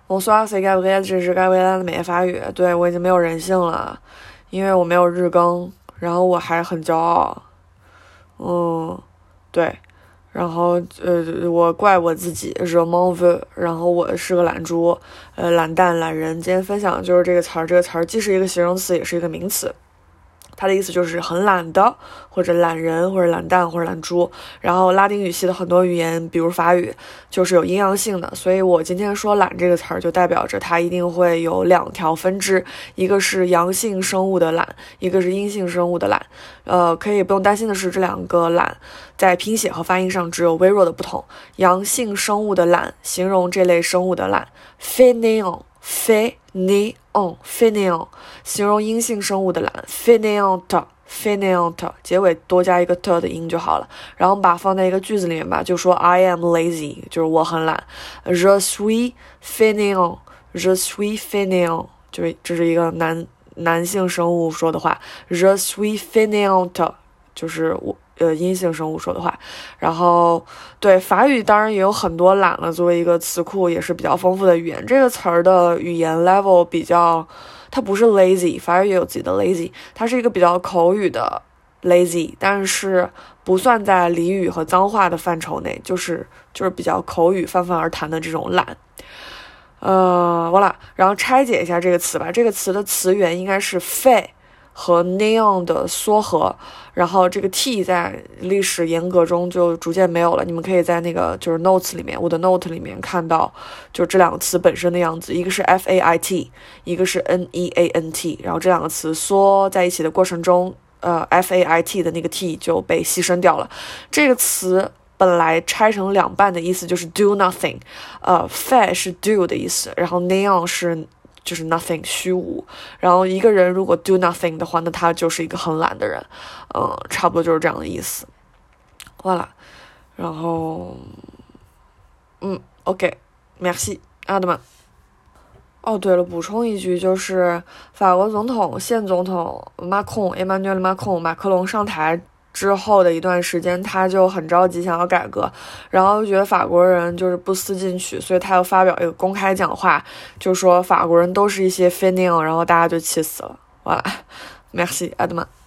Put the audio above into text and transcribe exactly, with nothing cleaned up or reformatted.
Bonsoir, c'est Gabriel， 这是盖维拉的美业法语。对，我已经没有人性了，因为我没有日更，然后我还很骄傲。嗯，对，然后呃，我怪我自己 je m'en veux， 然后我是个懒猪，呃，懒蛋懒人。今天分享的就是这个词儿，这个词儿既是一个形容词，也是一个名词。它的意思就是很懒的，或者懒人，或者懒蛋，或者懒猪。然后拉丁语系的很多语言，比如法语，就是有阴阳性的，所以我今天说懒这个词儿，就代表着它一定会有两条分支，一个是阳性生物的懒，一个是阴性生物的懒。呃，可以不用担心的是，这两个懒在拼写和发音上只有微弱的不同。阳性生物的懒形容这类生物的懒 fainéant，fainéant fainéant， 形容阴性生物的懒 fainéante fainéante， 结尾多加一个 t 的音就好了。然后我们把它放在一个句子里面吧，就说 I am lazy， 就是我很懒。Je suis fainéant je suis fainéant， 就是这是一个男男性生物说的话。Je suis fainéante， 就是我呃，阴性生物说的话。然后对法语当然也有很多懒了，作为一个词库也是比较丰富的语言。这个词儿的语言 level 比较，它不是 lazy， 法语也有自己的 lazy， 它是一个比较口语的 lazy， 但是不算在俚语和脏话的范畴内，就是就是比较口语泛泛而谈的这种懒。呃，完了，然后拆解一下这个词吧。这个词的词源应该是 fait和 néant 的缩合，然后这个 t 在历史严格中就逐渐没有了。你们可以在那个就是 notes 里面，我的 note 里面看到，就这两个词本身的样子，一个是 f-a-i-t， 一个是 n-e-a-n-t， 然后这两个词缩在一起的过程中，呃 f-a-i-t 的那个 t 就被牺牲掉了。这个词本来拆成两半的意思就是 do nothing， 呃 fait 是 do 的意思，然后 néant 是就是 nothing 虚无。然后一个人如果 do nothing 的话，那他就是一个很懒的人，嗯，差不多就是这样的意思。好了，然后嗯 OK merci 阿德曼。哦，对了，补充一句，就是法国总统现总统马克 Emmanuel Macron 马克龙上台之后的一段时间，他就很着急想要改革，然后觉得法国人就是不思进取，所以他又发表一个公开讲话，就说法国人都是一些 fainéant， 然后大家就气死了。完了 merci 阿德曼。